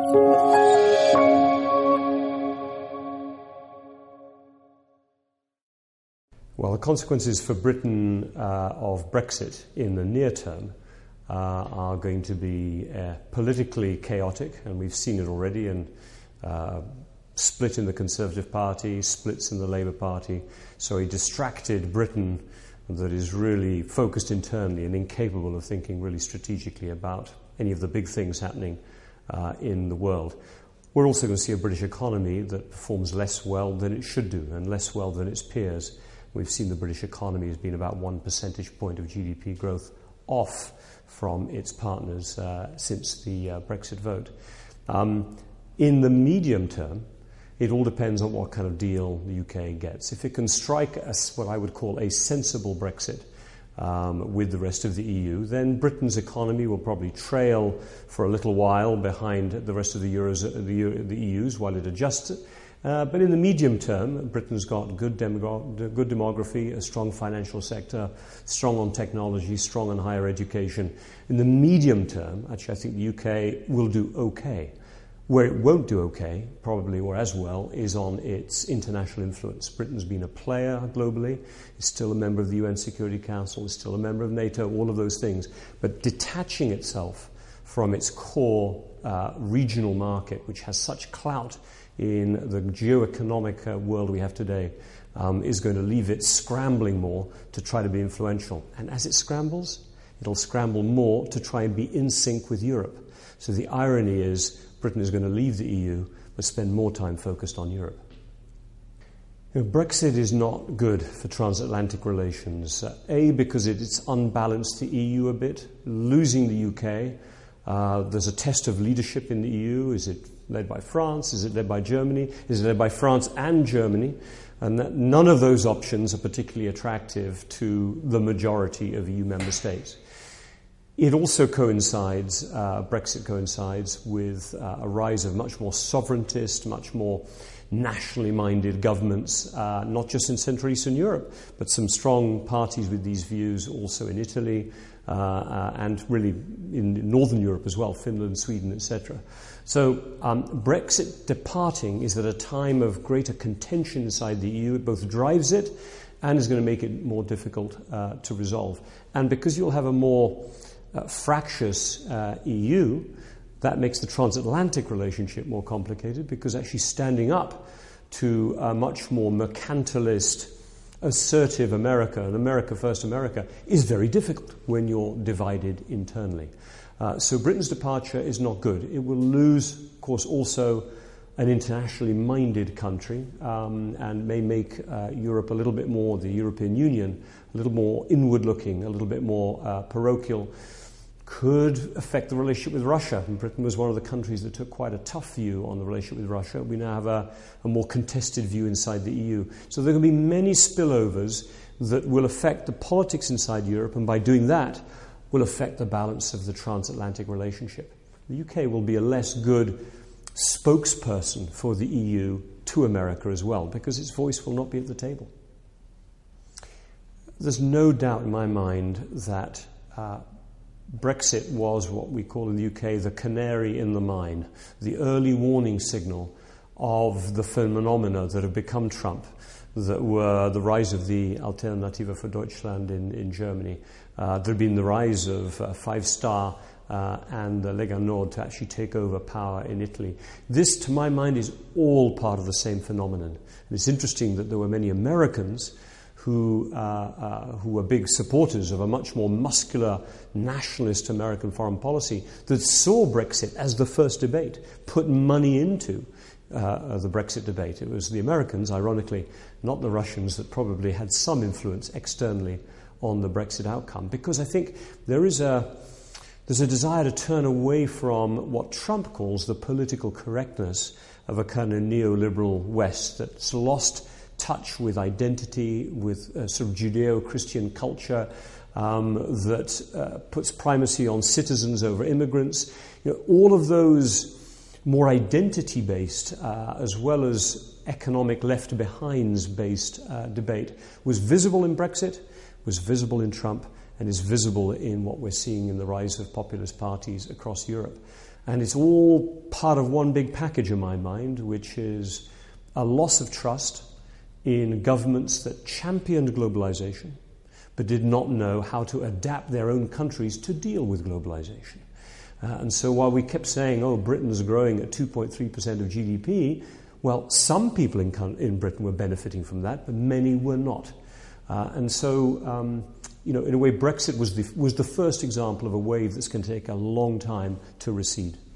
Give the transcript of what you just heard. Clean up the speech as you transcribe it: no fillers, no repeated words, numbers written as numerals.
Well, the consequences for Britain of Brexit in the near term are going to be politically chaotic, and we've seen it already, and split in the Conservative Party, splits in the Labour Party, so a distracted Britain that is really focused internally and incapable of thinking really strategically about any of the big things happening in the world. We're also going to see a British economy that performs less well than it should do and less well than its peers. We've seen the British economy has been about 1 percentage point of GDP growth off from its partners since the Brexit vote. In the medium term, it all depends on what kind of deal the UK gets. If it can strike what I would call a sensible Brexit with the rest of the EU, then Britain's economy will probably trail for a little while behind the rest of the EU's while it adjusts it. But in the medium term, Britain's got good demography, a strong financial sector, strong on technology, strong on higher education. In the medium term, actually, I think the UK will do okay. Where it won't do okay, probably or as well, is on its international influence. Britain's been a player globally, is still a member of the UN Security Council, is still a member of NATO, all of those things. But detaching itself from its core regional market, which has such clout in the geo-economic world we have today, is going to leave it scrambling more to try to be influential. And as it scrambles, it'll scramble more to try and be in sync with Europe. So the irony is Britain is going to leave the EU but spend more time focused on Europe. Brexit is not good for transatlantic relations. Because it's unbalanced the EU a bit. Losing the UK, there's a test of leadership in the EU. Is it led by France? Is it led by Germany? Is it led by France and Germany? And none of those options are particularly attractive to the majority of EU member states. It also coincides, Brexit coincides with a rise of much more sovereigntist, much more nationally minded governments, not just in Central Eastern Europe, but some strong parties with these views also in Italy and really in Northern Europe as well, Finland, Sweden, etc. So Brexit departing is at a time of greater contention inside the EU. It both drives it and is going to make it more difficult to resolve. And because you'll have a more fractious EU, that makes the transatlantic relationship more complicated, because actually standing up to a much more mercantilist, assertive America, and America first America, is very difficult when you're divided internally. So Britain's departure is not good. It will lose, of course, also an internationally minded country and may make Europe a little bit more, the European Union, a little more inward-looking, a little bit more parochial. Could affect the relationship with Russia. And Britain was one of the countries that took quite a tough view on the relationship with Russia. We now have a more contested view inside the EU. So there are going to be many spillovers that will affect the politics inside Europe, and by doing that, will affect the balance of the transatlantic relationship. The UK will be a less good spokesperson for the EU to America as well, because its voice will not be at the table. There's no doubt in my mind that Brexit was what we call in the UK the canary in the mine, the early warning signal of the phenomena that have become Trump, that were the rise of the Alternative für Deutschland in Germany. There had been the rise of Five Star and the Lega Nord to actually take over power in Italy. This, to my mind, is all part of the same phenomenon. And it's interesting that there were many Americans who were big supporters of a much more muscular nationalist American foreign policy that saw Brexit as the first debate, put money into the Brexit debate. It was the Americans, ironically, not the Russians, that probably had some influence externally on the Brexit outcome, because I think there's a desire to turn away from what Trump calls the political correctness of a kind of neoliberal West that's lost touch with identity, with sort of Judeo-Christian culture that puts primacy on citizens over immigrants. All of those more identity-based as well as economic left-behinds-based debate was visible in Brexit, was visible in Trump, and is visible in what we're seeing in the rise of populist parties across Europe. And it's all part of one big package in my mind, which is a loss of trust in governments that championed globalization but did not know how to adapt their own countries to deal with globalization. And so while we kept saying, oh, Britain's growing at 2.3% of GDP, well, some people in Britain were benefiting from that, but many were not. And so, in a way, Brexit was the first example of a wave that's going to take a long time to recede.